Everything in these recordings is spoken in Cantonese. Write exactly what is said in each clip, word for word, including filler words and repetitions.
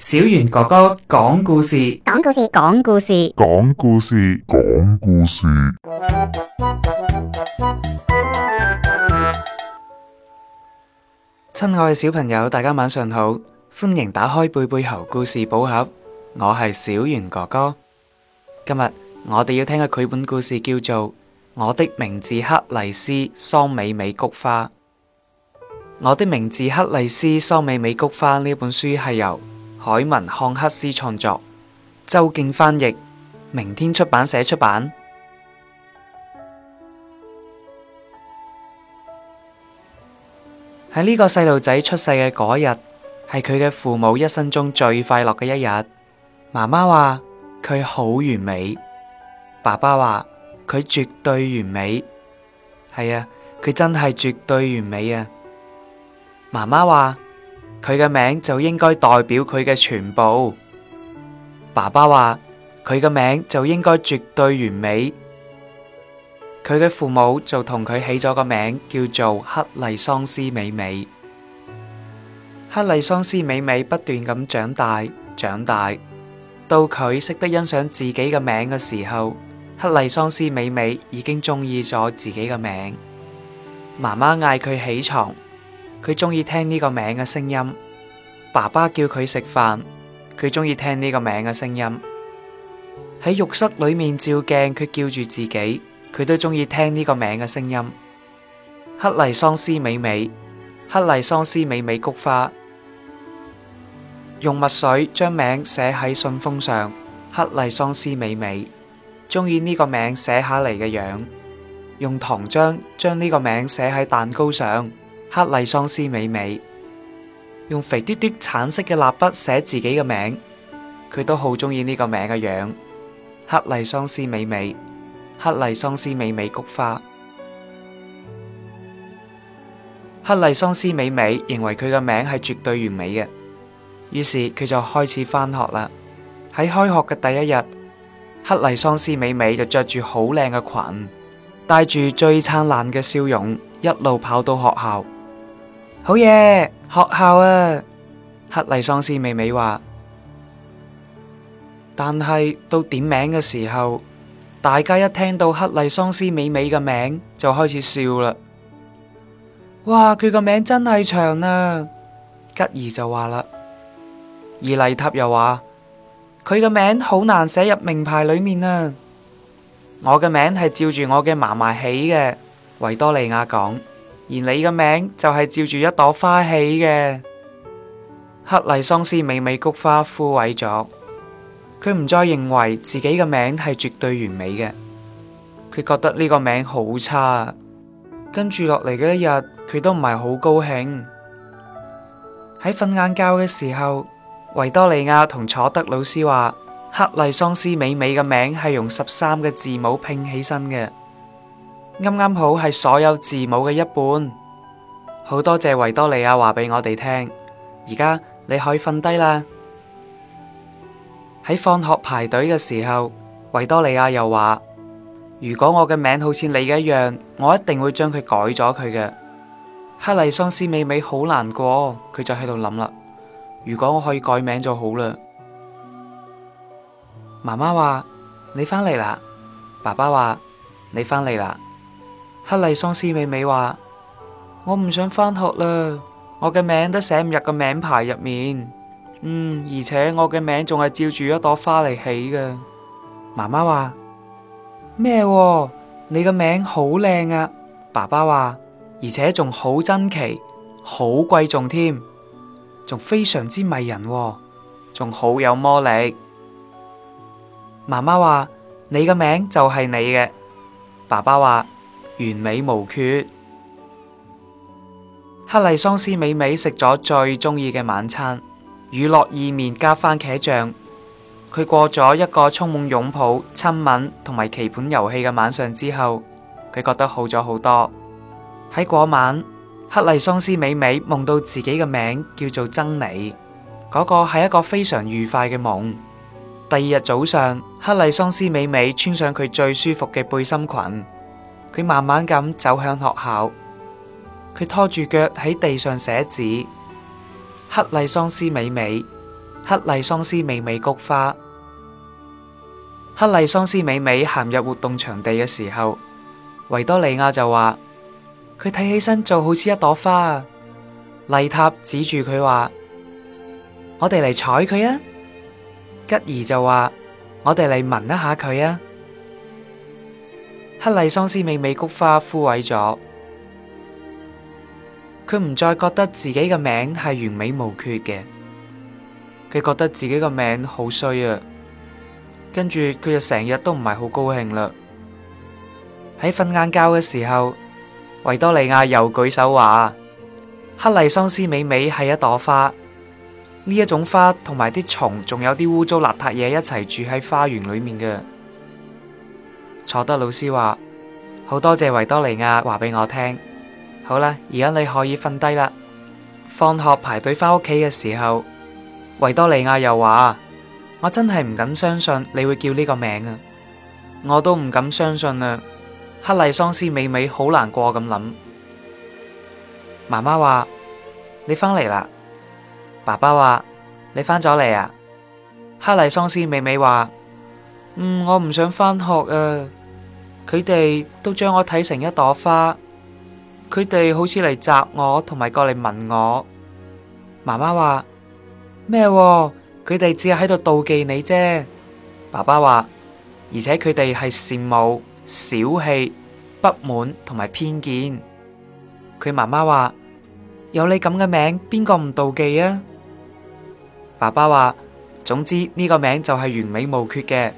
小袁哥哥講故事， 講故事，講故事， 講故事，講故事。 親愛嘅小朋友，大家晚上好，歡迎打開貝貝猴故事寶盒，我係小袁哥哥。今日我哋要聽嘅繪本故事叫做《我的名字克麗絲桑美美菊花》。我的名字克麗絲桑美美菊花呢本書係由海文漢克斯創作，周敬翻譯，明天出版社出版。喺呢個細路仔出世嘅嗰日，係佢嘅父母一生中最快樂嘅一日。媽媽話佢好完美，爸爸話佢絕對完美。係啊，佢真係絕對完美啊！媽媽話佢嘅名就應該代表佢嘅全部。爸爸話佢嘅名就應該絕對完美。佢嘅父母就同佢起咗個名叫做克麗桑絲美美。克麗桑絲美美不斷咁長大長大，到佢識得欣賞自己嘅名嘅時候，克麗桑絲美美已經中意咗自己嘅名。媽媽嗌佢起床，佢中意聽呢個名嘅聲音。爸爸叫佢食飯，佢中意聽呢個名嘅聲音。喺浴室裏面照鏡，佢叫住自己，佢都中意聽呢個名嘅聲音。克麗桑絲美美，克麗桑絲美美菊花。用墨水將名寫喺信封上，克麗桑絲美美，中意呢個名寫下嚟嘅樣。用糖漿將呢個名寫喺蛋糕上，克麗桑絲美美。用肥嘟嘟橙色嘅蠟筆寫自己嘅名，佢都好中意呢個名嘅樣。克麗桑絲美美，克麗桑絲美美菊花。克麗桑絲美美認為佢嘅名係絕對完美嘅，於是佢就開始返學啦。喺開學嘅第一日，克麗桑絲美美就着住好靚嘅裙，帶住最燦爛嘅笑容，一路跑到學校。好嘢，學校啊！克麗桑絲美美話。但係到點名嘅時候，大家一聽到克麗桑絲美美嘅名就開始笑啦。哇，佢個名真係長啊！吉兒就話啦，而麗塔又話佢嘅名好難寫入名牌裏面啊。我嘅名係照住我嘅嫲嫲起嘅，維多利亞講。而你嘅名就係照住一朵花起嘅。克麗桑絲美美菊花枯萎咗，佢唔再認為自己嘅名係絕對完美嘅，佢覺得呢個名好差。跟住落嚟嘅一日，佢都唔係好高興。喺瞓晏覺嘅時候，維多利亞同楚德老師話，克麗桑絲美美嘅名係用十三個字母拼起身嘅，啱啱好係所有字母嘅一半。好多謝維多利亞話俾我哋聽，而家你可以瞓低啦。喺放學排隊嘅時候，維多利亞又話，如果我嘅名好似你嘅一樣，我一定會將佢改咗佢嘅。克麗桑絲美美好難過，佢就喺度諗啦，如果我可以改名就好啦。媽媽話你返嚟啦，爸爸話你返嚟啦。克麗桑絲美美話，我唔想返學啦，我嘅名都寫唔入個名牌入面。嗯，而且我嘅名仲係照住一朵花嚟起嘅。媽媽話咩？你嘅名好靚啊！爸爸話，而且仲好珍奇，好貴重添，仲非常之迷人，仲好有魔力。媽媽話你嘅名就係你嘅。爸爸話完美無缺。克麗桑絲美美食咗最中意嘅晚餐，乳酪意麵加番茄醬。佢過咗一個充滿擁抱、親吻同埋棋盤遊戲嘅晚上之後，佢覺得好咗好多。喺嗰晚，克麗桑絲美美夢到自己嘅名叫做珍妮，嗰個係一個非常愉快嘅夢。第二日早上，克麗桑絲美美穿上佢最舒服嘅背心裙，佢慢慢咁走向學校。佢拖住腳喺地上寫字，克麗桑絲美美， 克麗桑斯美美菊花。克麗桑斯美美行入活動場地嘅時候，維多利亞就話佢睇起身就好似一朵花啊。麗塔指住佢話：我哋嚟採佢啊！吉兒就話：我哋嚟聞一下佢啊！克麗桑斯美美菊花枯萎咗，佢唔再覺得自己嘅名係完美無缺嘅，佢覺得自己個名好衰啊！跟住佢就成日都唔係好高興啦。喺瞓晏覺嘅時候，維多利亞又舉手話：克麗桑斯美美係一朵花，呢一種花同埋啲蟲仲有啲污糟邋遢嘢一齊住喺花園裏面嘅。佐德老師話：好多謝維多利亞話俾我聽。好啦，而家你可以瞓低啦。放學排隊返屋企嘅時候，維多利亞又話：我真係唔敢相信你會叫呢個名啊！我都唔敢相信啊！克麗桑斯美美好難過咁諗。媽媽話：你返嚟啦。爸爸話：你返咗嚟啊。克麗桑斯美美話：嗯，我唔想返學啊。佢哋都將我睇成一朵花，佢哋好似嚟摘我，同埋過嚟聞我。媽媽話：咩？佢哋只係喺度妒忌你啫。爸爸話：而且佢哋係羨慕、小氣、不滿同埋偏見。佢媽媽話：有你咁嘅名，邊個唔妒忌啊？爸爸話：總之呢個名就係完美無缺嘅。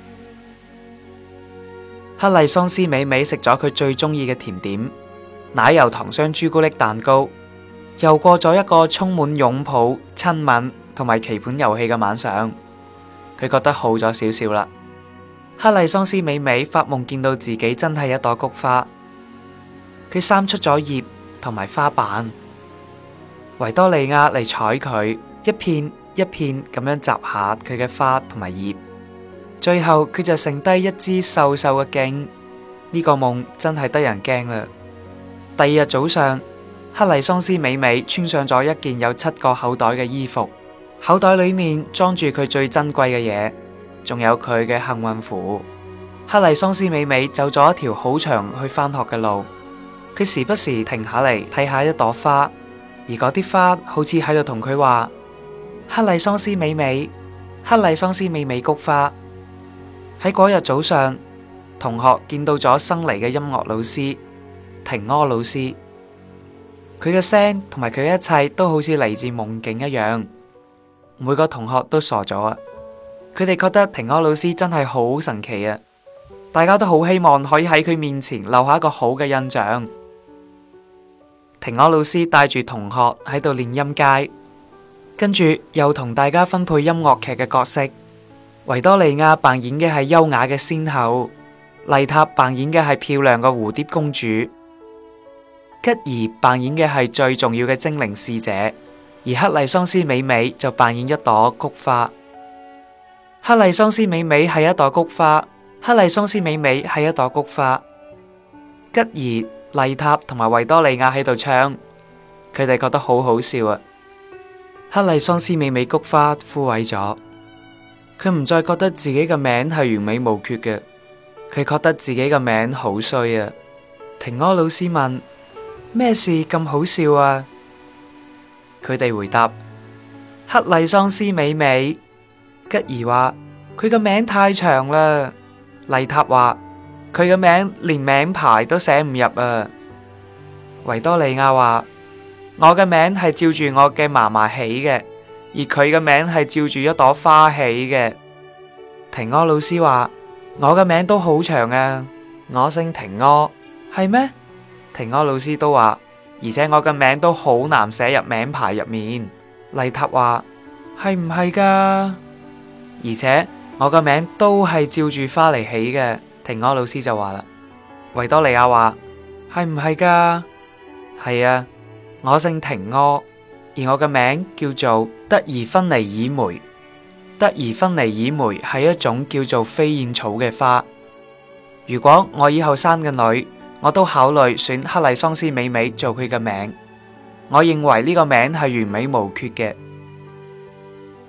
克麗桑斯美美食咗佢最中意嘅甜點奶油糖霜朱古力蛋糕，又過咗一個充滿擁抱、親吻同埋棋盤遊戲嘅晚上。佢覺得好咗少少啦。克麗桑斯美美發夢見到自己真係一朵菊花，佢生出咗葉同埋花瓣。維多利亞嚟採佢，一片一片咁樣摘下佢嘅花同埋葉。最後佢就剩低一支瘦瘦嘅莖，呢個夢真係得人驚啦。第二日早上，克麗桑斯美美穿上咗一件有七個口袋嘅衣服，口袋裏面裝住佢最珍貴嘅嘢，仲有佢嘅幸運符。克麗桑斯美美走咗一條好長去返學嘅路，佢時不時停下嚟睇下一朵花，而嗰啲花好似喺度同佢話：克麗桑斯美美，克麗桑斯美美菊花。喺嗰日早上，同學見到咗新嚟嘅音樂老師廷柯老師，佢嘅聲同埋佢嘅一切都好似嚟自夢境一樣。每個同學都傻咗啊！佢哋覺得廷柯老師真係好神奇啊！大家都好希望可以喺佢面前留下一個好嘅印象。廷柯老師帶住同學喺度練音階，跟住又同大家分配音樂劇嘅角色。維多利亞扮演嘅係優雅嘅仙后，麗塔扮演嘅係漂亮嘅蝴蝶公主，吉兒扮演嘅係最重要嘅精靈使者，而克麗桑斯美美就扮演一朵菊花。克麗桑斯美美係一朵菊花，克麗桑斯美美係一朵菊花。吉兒、麗塔同埋維多利亞喺度唱，佢哋覺得好好笑啊！克麗桑斯美美菊花枯萎咗。佢唔再覺得自己嘅名係完美無缺嘅，佢覺得自己嘅名好衰啊！廷柯老師問：咩事咁好笑啊？佢哋回答：克麗桑斯美美。吉兒話：佢嘅名太長啦。麗塔話：佢嘅名連名牌都寫唔入啊。維多利亞話：我嘅名係照住我嘅嫲嫲起嘅。而佢嘅名係照住一朵花起嘅。廷柯老師話：我嘅名都好長啊，我姓廷柯。係咩？廷柯老師都話，而且我嘅名都好難寫入名牌入面。麗塔話：係唔係噶？而且我嘅名都係照住花嚟起嘅。廷柯老師就話啦。維多利亞話：係唔係噶？係啊，我姓廷柯。而我嘅名叫做德爾芬尼爾梅。德爾芬尼爾梅係一種叫做飛燕草嘅花。如果我以後生嘅女，我都考慮選克麗桑斯美美做佢嘅名。我認為呢個名係完美無缺嘅。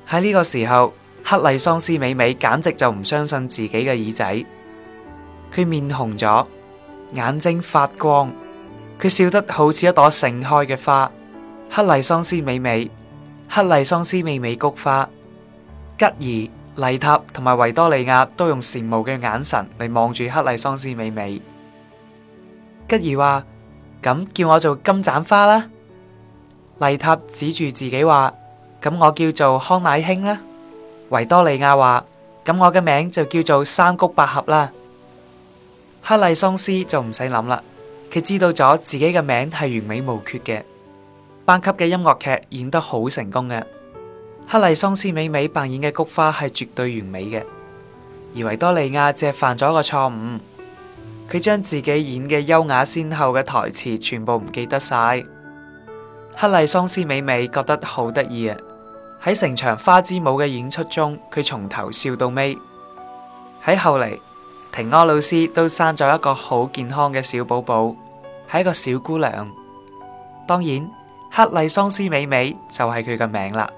喺呢個時候，克麗桑斯美美簡直就唔相信自己嘅耳仔，佢面紅咗，眼睛發光，佢笑得好似一朵盛開嘅花。克麗桑斯美美，克麗桑斯美美菊花。吉兒、麗塔同埋維多利亞都用羨慕嘅眼神嚟望住克麗桑斯美美。吉兒話：咁叫我做金盞花啦。麗塔指住自己話：咁我叫做康乃馨啦。維多利亞話：咁我嘅名就叫做三菊百合啦。克麗桑斯就唔使諗啦，佢知道咗自己嘅名係完美無缺嘅。班級嘅音樂劇演得好成功嘅，克麗桑斯美美扮演嘅菊花係絕對完美嘅，而維多利亞只係犯咗一個錯誤，佢將自己演嘅優雅先後嘅台詞全部唔記得晒。克麗桑斯美美覺得好得意啊！喺成場花之舞嘅演出中，佢從頭笑到尾。喺後嚟，婷柯老師都生咗一個好健康嘅小寶寶，係一個小姑娘。當然，克麗桑斯美美就係佢嘅名啦。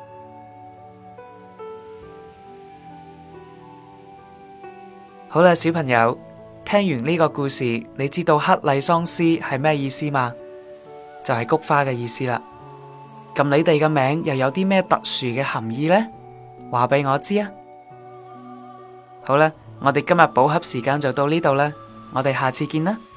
好啦，小朋友，聽完呢個故事，你知道克麗桑斯係咩意思嗎？就係菊花嘅意思啦。咁你哋嘅名又有啲咩特殊嘅含義呢？話俾我知啊！好啦，我哋今日寶盒時間就到呢度啦，我哋下次見啦。